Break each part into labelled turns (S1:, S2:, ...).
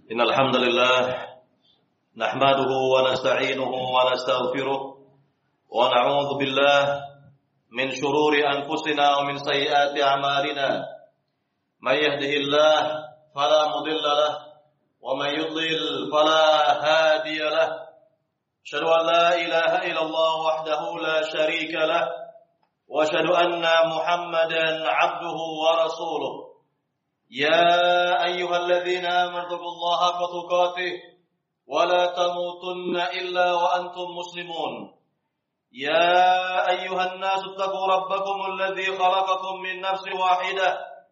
S1: إن الحمد لله نحمده ونستعينه ونستغفره ونعوذ بالله من شرور أنفسنا ومن سيئات أعمالنا من يهده الله فلا مضل له ومن يضلل فلا هادي له أشهد أن لا إله إلا الله وحده لا شريك له وأشهد أن محمدا عبده ورسوله يا أيها الذين آمنوا اتقوا الله حق تقاته ولا تموتن إلا وأنتم مسلمون يا أيها الناس اتقوا ربكم الذي خلقكم من نفس واحدة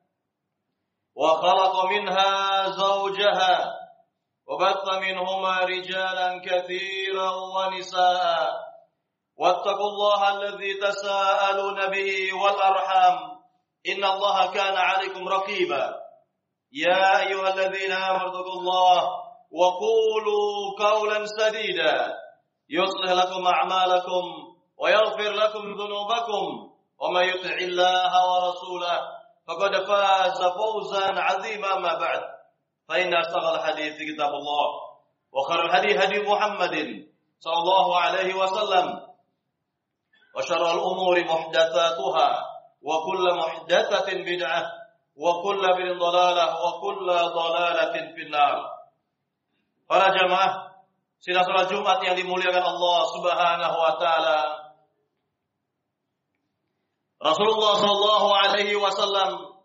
S1: وخلق منها زوجها وبث منهما رجالا كثيرا ونساء واتقوا الله الذي تساءلون به والأرحام إن الله كان عليكم رقيبا يا أيها الذين آمنوا اتقوا الله وقولوا قولا سديدا يصلح لكم أعمالكم ويغفر لكم ذنوبكم ومن يطع الله ورسوله فقد فاز فوزا عظيما ما بعد فإن أصدق الحديث كتاب الله وخير الهدي هدي محمد صلى الله عليه وسلم وشر الأمور محدثاتها وكل محدثة بدعة وكل بدعة ضلالة وكل ضلالة في النار. Para jamaah sidang salat Jumat yang dimuliakan Allah Subhanahu wa taala. Rasulullah sallallahu alaihi wasallam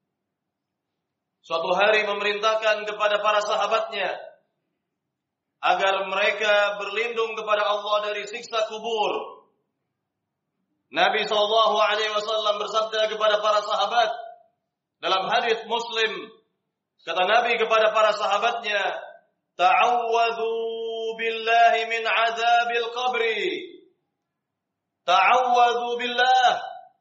S1: suatu hari memerintahkan kepada para sahabatnya agar mereka berlindung kepada Allah dari siksa kubur. Nabi sallallahu alaihi wasallam bersabda kepada para sahabat dalam hadis Muslim, kata Nabi kepada para sahabatnya, ta'awwadhu billahi min azabil qabri. Ta'awwadhu billah.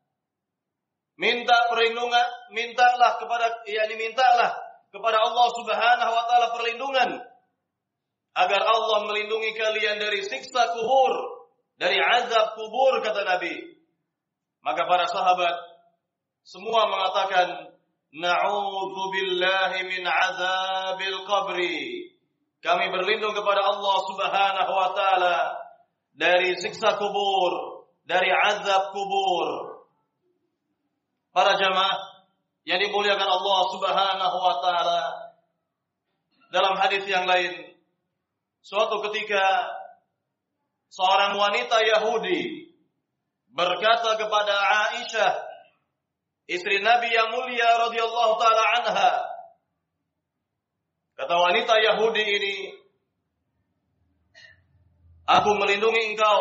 S1: Mintalah kepada Allah Subhanahu wa taala perlindungan agar Allah melindungi kalian dari siksa kubur, dari azab kubur, kata Nabi. Maka para sahabat semua mengatakan, na'udzu billahi min azabil qabri. Kami berlindung kepada Allah Subhanahu wa taala dari siksa kubur, dari azab kubur. Para jamaah yang dimuliakan Allah Subhanahu wa taala, dalam hadis yang lain, suatu ketika seorang wanita Yahudi berkata kepada Aisyah, istri Nabi yang mulia radhiyallahu taala anha. Kata wanita Yahudi ini, aku melindungi engkau.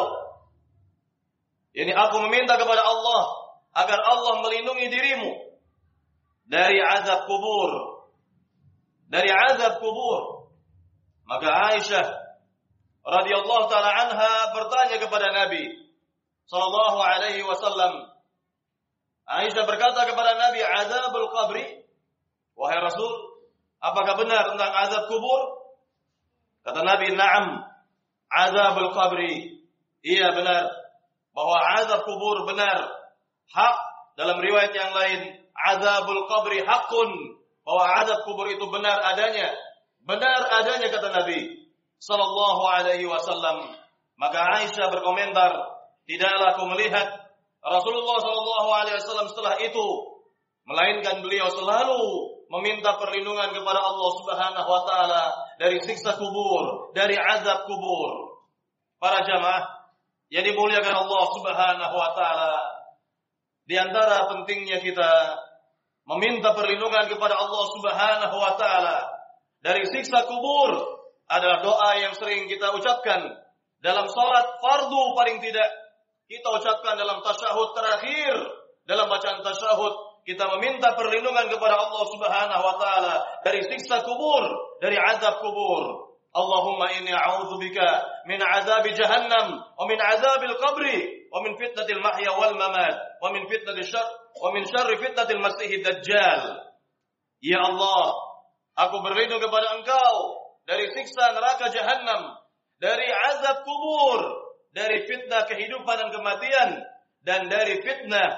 S1: Aku meminta kepada Allah agar Allah melindungi dirimu dari azab kubur. Dari azab kubur. Maka Aisyah radhiyallahu taala anha bertanya kepada Nabi sallallahu alaihi wasallam. Aisyah berkata kepada Nabi, azabul qabri, wahai Rasul, apakah benar tentang azab kubur? Kata Nabi, na'am, azabul qabri. Iya benar, bahwa azab kubur benar, hak. Dalam riwayat yang lain, azabul qabri hakun, bahwa azab kubur itu benar adanya. Benar adanya, kata Nabi sallallahu alaihi wasallam. Maka Aisyah berkomentar, tidaklah aku melihat Rasulullah sallallahu alaihi wasallam setelah itu, melainkan beliau selalu meminta perlindungan kepada Allah Subhanahu wa taala dari siksa kubur, dari azab kubur. Para jamaah yang dimuliakan Allah Subhanahu wa taala, di antara pentingnya kita meminta perlindungan kepada Allah Subhanahu wa taala dari siksa kubur adalah doa yang sering kita ucapkan dalam salat fardu, paling tidak kita ucapkan dalam tasyahud terakhir. Dalam bacaan tasyahud kita meminta perlindungan kepada Allah Subhanahu wa taala dari siksa kubur, dari azab kubur. Allahumma inni a'udzubika min azabi jahannam wa min azabil qabri wa min fitnatil mahya wal mamat wa min syarri fitnatil masiihid dajjal. Ya Allah, aku berlindung kepada Engkau dari siksa neraka jahannam, dari azab kubur, dari fitnah kehidupan dan kematian, dan dari fitnah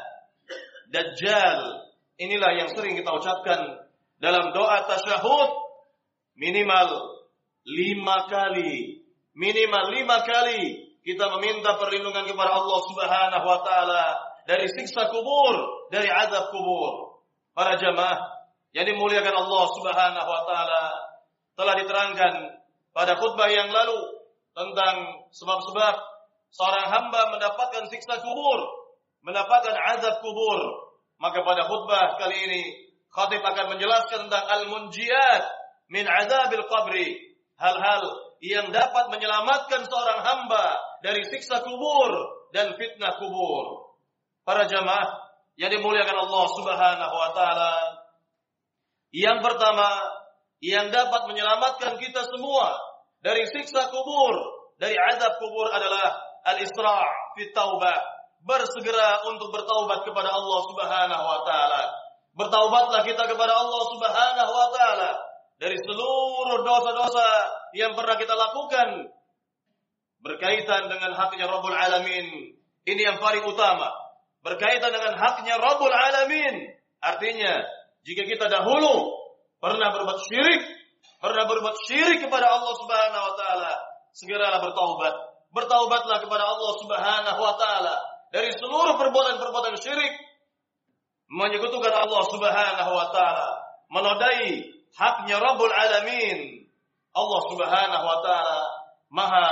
S1: Dajjal. Inilah yang sering kita ucapkan dalam doa tasyahud minimal 5 kali. Minimal 5 kali kita meminta perlindungan kepada Allah Subhanahu wa taala dari siksa kubur, dari azab kubur. Para jamaah yang dimuliakan Allah Subhanahu wa taala, telah diterangkan pada khutbah yang lalu tentang sebab-sebab seorang hamba mendapatkan siksa kubur, mendapatkan azab kubur. Maka pada khutbah kali ini khatib akan menjelaskan tentang al-munjiyat min azabil qabri, hal-hal yang dapat menyelamatkan seorang hamba dari siksa kubur dan fitnah kubur. Para jamaah yang dimuliakan Allah Subhanahu wa taala, yang pertama yang dapat menyelamatkan kita semua dari siksa kubur, dari azab kubur adalah al-isra' fi taubah, bersegera untuk bertaubat kepada Allah Subhanahu wa taala. Bertaubatlah kita kepada Allah Subhanahu wa taala dari seluruh dosa-dosa yang pernah kita lakukan berkaitan dengan haknya Rabbul Alamin. Ini yang paling utama, berkaitan dengan haknya Rabbul Alamin. Artinya, jika kita dahulu pernah berbuat syirik kepada Allah Subhanahu wa taala, segeralah bertaubat. Bertaubatlah kepada Allah Subhanahu wa taala dari seluruh perbuatan-perbuatan syirik, menyekutukan Allah Subhanahu wa taala, menodai haknya Rabbul Alamin. Allah Subhanahu wa taala Maha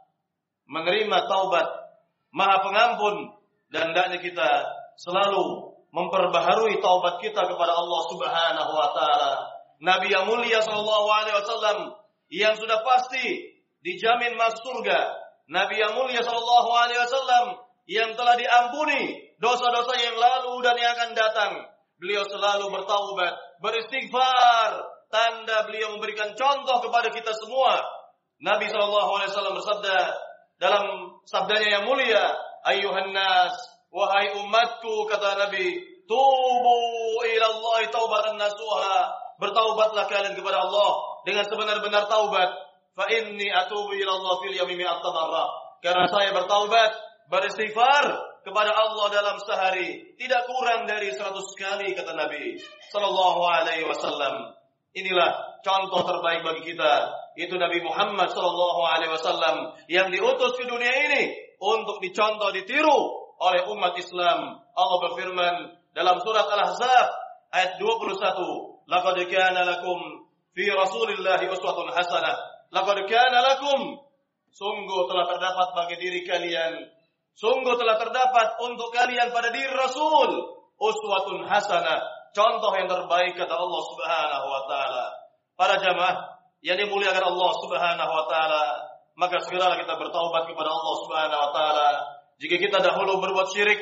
S1: menerima taubat, Maha pengampun, dan hendaknya kita selalu memperbaharui taubat kita kepada Allah Subhanahu wa taala. Nabi yang mulia sallallahu alaihi wasallam yang sudah pasti dijamin masuk surga, Nabi yang mulia sallallahu alaihi wasallam yang telah diampuni dosa-dosa yang lalu dan yang akan datang, beliau selalu bertaubat, beristighfar, tanda beliau memberikan contoh kepada kita semua. Nabi sallallahu alaihi wasallam bersabda dalam sabdanya yang mulia, "Ayyuhan nas, wahai umatku," kata Nabi, "tubu ila Allah taubatan nasuha." Bertaubatlah kalian kepada Allah dengan sebenar-benar taubat. Fa inni atubu ila Allah fil yawmi mi'at marrah. Karena saya bertaubat, beristighfar kepada Allah dalam sehari tidak kurang dari 100 kali, kata Nabi sallallahu alaihi wasallam. Inilah contoh terbaik bagi kita, itu Nabi Muhammad sallallahu alaihi wasallam yang diutus ke dunia ini untuk dicontoh, ditiru oleh umat Islam. Allah berfirman dalam surat Al-Ahzab ayat 21, "Laqad kana lakum fi Rasulillahi uswatun hasanah." Laqad kana lakum, sungguh telah terdapat bagi diri kalian, sungguh telah terdapat untuk kalian pada diri Rasul uswatun hasanah, contoh yang terbaik, kata Allah Subhanahu wa taala. Para jamaah yang dimuliakan Allah Subhanahu wa taala, maka segeralah kita bertaubat kepada Allah Subhanahu wa taala. Jika kita dahulu berbuat syirik,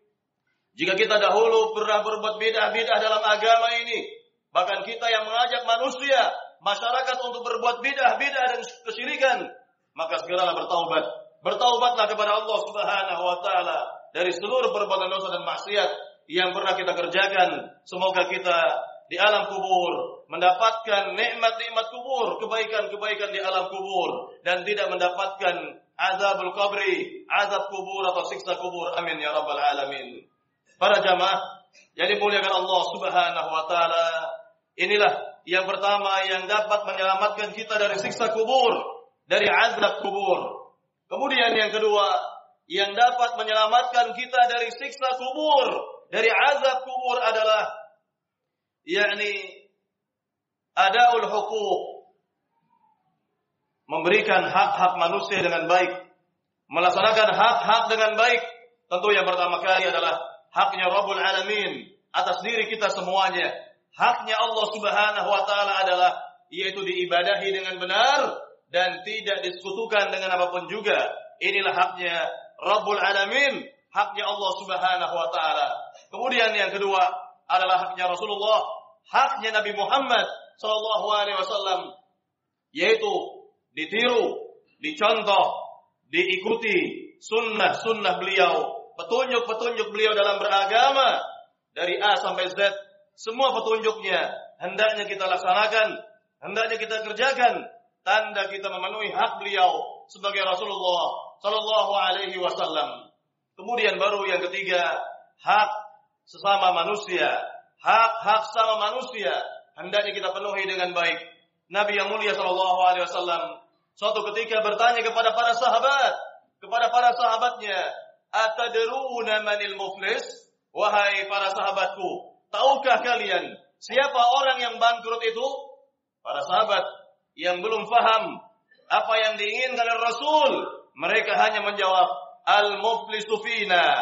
S1: jika kita dahulu pernah berbuat bid'ah-bid'ah dalam agama ini, bahkan kita yang mengajak manusia, masyarakat untuk berbuat bid'ah-bid'ah dan kesyirikan, maka segeralah bertaubat. Bertaubatlah kepada Allah Subhanahu wa taala dari seluruh perbuatan dosa dan maksiat yang pernah kita kerjakan. Semoga kita di alam kubur mendapatkan nikmat-nikmat kubur, kebaikan-kebaikan di alam kubur, dan tidak mendapatkan azabul qabri, azab kubur atau siksa kubur. Amin ya rabbal alamin. Para jamaah yang dimuliakan Allah Subhanahu wa taala, inilah yang pertama yang dapat menyelamatkan kita dari siksa kubur, dari azab kubur. Kemudian yang kedua yang dapat menyelamatkan kita dari siksa kubur, dari azab kubur adalah yakni adaul huquq, memberikan hak-hak manusia dengan baik, melaksanakan hak-hak dengan baik. Tentu yang pertama kali adalah haknya Rabbul Alamin atas diri kita semuanya. Haknya Allah Subhanahu wa taala adalah yaitu diibadahi dengan benar dan tidak disekutukan dengan apapun juga. Inilah haknya Rabbul Alamin, haknya Allah Subhanahu wa taala. Kemudian yang kedua adalah haknya Rasulullah, haknya Nabi Muhammad sallallahu alaihi wasallam, yaitu ditiru, dicontoh, diikuti sunnah-sunnah beliau, petunjuk-petunjuk beliau dalam beragama dari A sampai Z. Semua petunjuknya hendaknya kita laksanakan, hendaknya kita kerjakan, tanda kita memenuhi hak beliau sebagai Rasulullah sallallahu alaihi wasallam. Kemudian baru yang ketiga, hak sesama manusia. Hak-hak sama manusia hendaknya kita penuhi dengan baik. Nabi yang mulia sallallahu alaihi wasallam suatu ketika bertanya kepada para sahabatnya, "Atadruna manil muflis?" Wahai para sahabatku, tahukah kalian siapa orang yang bangkrut itu? Para sahabat yang belum faham apa yang diinginkan oleh Rasul, mereka hanya menjawab, "Al-muflisu fina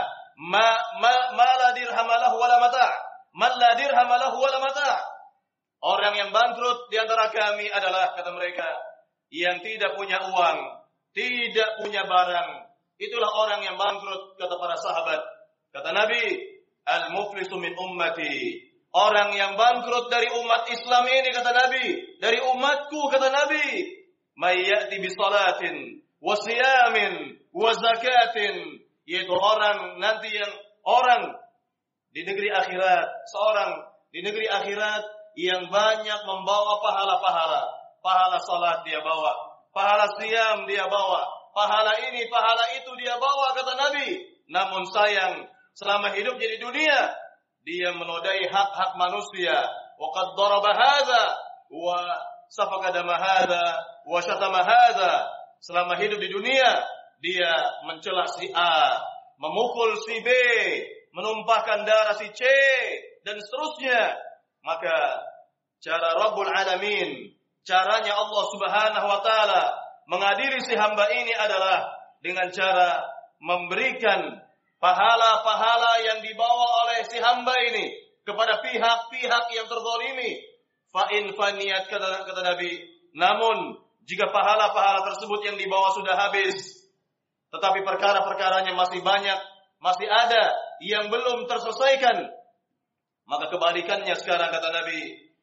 S1: ma la dirham lahu wala mata'." Man la dirham lahu wala mata'. Orang yang bangkrut di antara kami adalah, kata mereka, yang tidak punya uang, tidak punya barang. Itulah orang yang bangkrut, kata para sahabat. Kata Nabi, "Al-muflisu min ummati." Orang yang bangkrut dari umat Islam ini, kata Nabi, dari umatku, kata Nabi, "May ya'ti bi salatin wa siyamin wa zakatin." Yaitu orang nanti yang orang di negeri akhirat, seorang di negeri akhirat yang banyak membawa pahala-pahala. Pahala salat dia bawa, pahala siyam dia bawa, pahala ini, pahala itu dia bawa, kata Nabi. Namun sayang, selama hidupnya di dunia, dia menodai hak-hak manusia. Wa qad daraba hadza wa safaka dama hadza wa syatama hadza. Selama hidup di dunia, dia mencela si A, memukul si B, menumpahkan darah si C, dan seterusnya. Maka cara Rabbul Alamin, caranya Allah Subhanahu wa taala mengadili si hamba ini adalah dengan cara memberikan pahala-pahala yang dibawa oleh si hamba ini kepada pihak-pihak yang terzalimi. Fa in faniyat, kata Nabi, namun jika pahala-pahala tersebut yang dibawa sudah habis, tetapi perkara-perkaranya masih banyak, masih ada yang belum terselesaikan, maka kebalikannya sekarang, kata Nabi,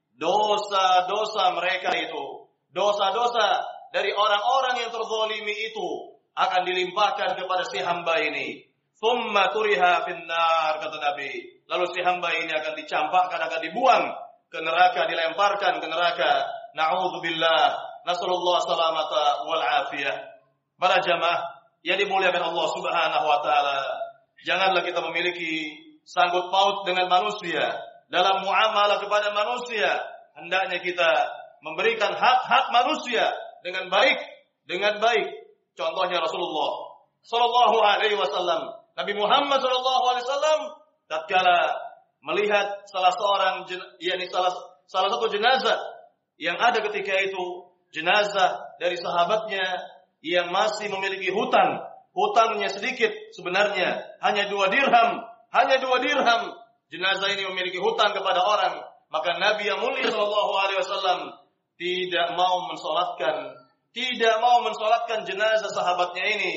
S1: dosa-dosa mereka itu, dosa-dosa dari orang-orang yang terzalimi itu akan dilimpahkan kepada si hamba ini. Thumma turiha finnar, kata Nabi. Lalu si hamba ini akan dicampakkan, akan dibuang ke neraka, dilemparkan ke neraka. Na'udzubillah, nasallallahu salamata wal afiyah. Para jamaah yang dimuliakan Allah Subhanahu wa taala, janganlah kita memiliki sangkut paut dengan manusia dalam muamalah kepada manusia. Hendaknya kita memberikan hak-hak manusia dengan baik. Contohnya Rasulullah sallallahu alaihi wasallam, Nabi Muhammad sallallahu alaihi wasallam tatkala melihat salah satu jenazah yang ada ketika itu, jenazah dari sahabatnya yang masih memiliki hutangnya sedikit sebenarnya, hanya 2 dirham. Jenazah ini memiliki hutang kepada orang, maka Nabi yang mulia sallallahu alaihi wasallam tidak mau mensolatkan jenazah sahabatnya ini.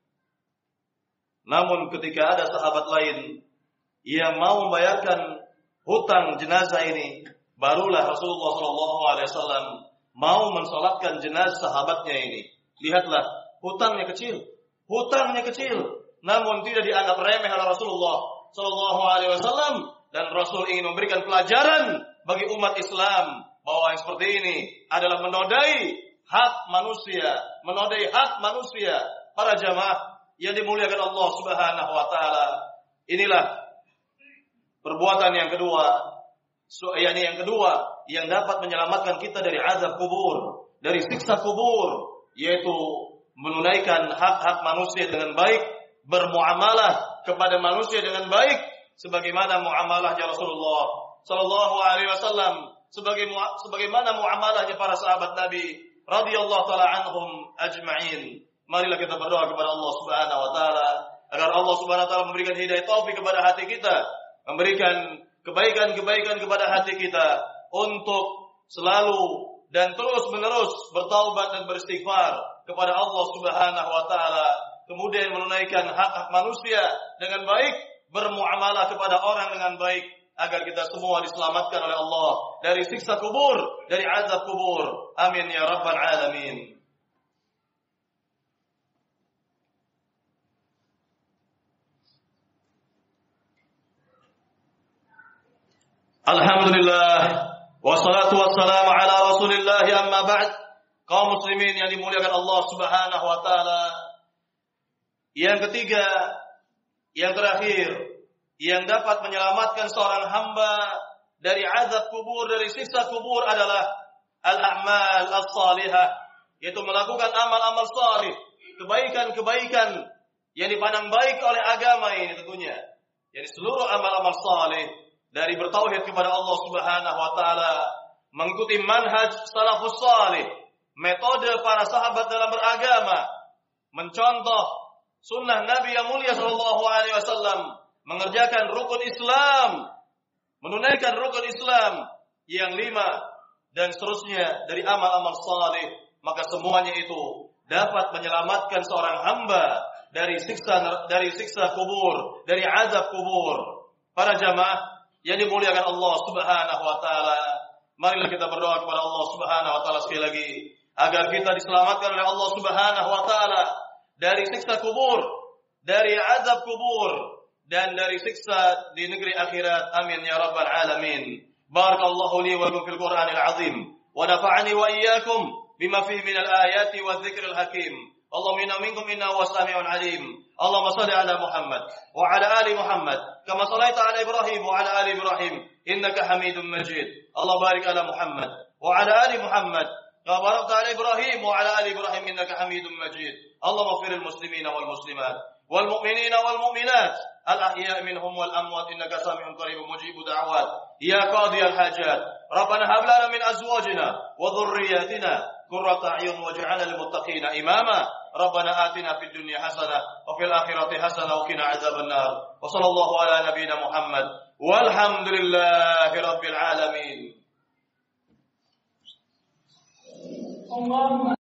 S1: Namun ketika ada sahabat lain yang mau membayarkan hutang jenazah ini, barulah Rasulullah sallallahu alaihi wasallam mau mensolatkan jenazah sahabatnya ini. Lihatlah, hutangnya kecil, namun tidak dianggap remeh oleh Rasulullah sallallahu alaihi wasallam, dan Rasul ingin memberikan pelajaran bagi umat Islam bahwa yang seperti ini adalah menodai hak manusia. Para jamaah yang dimuliakan Allah Subhanahu wa taala, inilah perbuatan yang kedua yang dapat menyelamatkan kita dari azab kubur, dari siksa kubur, yaitu menunaikan hak-hak manusia dengan baik, bermuamalah kepada manusia dengan baik sebagaimana muamalahnya Rasulullah sallallahu alaihi wasallam, sebagaimana muamalahnya para sahabat Nabi radhiyallahu taala anhum ajma'in. Marilah kita berdoa kepada Allah Subhanahu wa taala agar Allah Subhanahu wa taala memberikan hidayah taufik kepada hati kita, memberikan kebaikan-kebaikan kepada hati kita untuk selalu dan terus-menerus bertaubat dan beristighfar kepada Allah Subhanahu wa taala, kemudian menunaikan hak-hak manusia dengan baik, bermuamalah kepada orang dengan baik, agar kita semua diselamatkan oleh Allah dari siksa kubur, dari azab kubur. Amin ya rabbal alamin. Alhamdulillah, wassalatu wassalamu ala Rasulillah, amma ba'd. Kaum muslimin yang dimuliakan Allah Subhanahu wa taala, yang ketiga, yang terakhir, yang dapat menyelamatkan seorang hamba dari azab kubur, dari siksa kubur adalah al-a'mal as-salihah, yaitu melakukan amal-amal salih, kebaikan-kebaikan yang dipandang baik oleh agama ini tentunya. Jadi seluruh amal-amal salih dari bertauhid kepada Allah Subhanahu wa taala, mengikuti manhaj salafus salih, metode para sahabat dalam beragama, mencontoh sunnah Nabi yang mulia sallallahu alaihi wasallam, mengerjakan rukun Islam, menunaikan rukun Islam yang 5 dan seterusnya dari amal-amal salih, maka semuanya itu dapat menyelamatkan seorang hamba dari siksa kubur, dari azab kubur. Para jamaah yang dimuliakan Allah Subhanahu wa taala, marilah kita berdoa kepada Allah Subhanahu wa taala sekali lagi agar kita diselamatkan oleh Allah Subhanahu wa taala dari siksa kubur, dari azab kubur, dan dari siksa di negeri akhirat. Amin ya rabbal alamin. Barakallahu li wa lakum fil Qur'anil azim wa nafa'ani wa iyyakum bima fihi minal ayati wadh-dhikril hakim. Allahumma inna minkum inna was-sami'un alim. Allahumma shalli ala Muhammad wa ala ali Muhammad kama shallaita ala Ibrahim wa ala ali Ibrahim innaka Hamidum Majid. Allah barik ala Muhammad wa ala ali Muhammad kama barakta ala Ibrahim wa ala ali Ibrahim innaka Hamidum Majid. Allahumma ighfir lil muslimina wal muslimat wal mu'minina wal mu'minat al-ahya'i minhum wal amwat innaka sami'un qaribun mujibud da'awat ya qadiyal hajat. Rabbana hab lana min azwajina wa dhurriyyatina qurrata a'yun waj'alna lil muttaqina imama. Rabbana atina fid dunya hasanah wa fil akhirati hasanah wa qina adzaban nar. Wa sallallahu ala nabiyyina Muhammad walhamdulillahi rabbil alamin.